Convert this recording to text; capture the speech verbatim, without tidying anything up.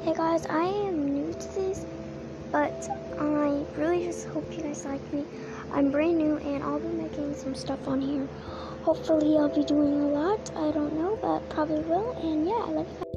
Hey guys, I am new to this, but I really just hope you guys like me. I'm brand new and I'll be making some stuff on here. Hopefully I'll be doing a lot. I don't know, but probably will. And yeah, I love you guys.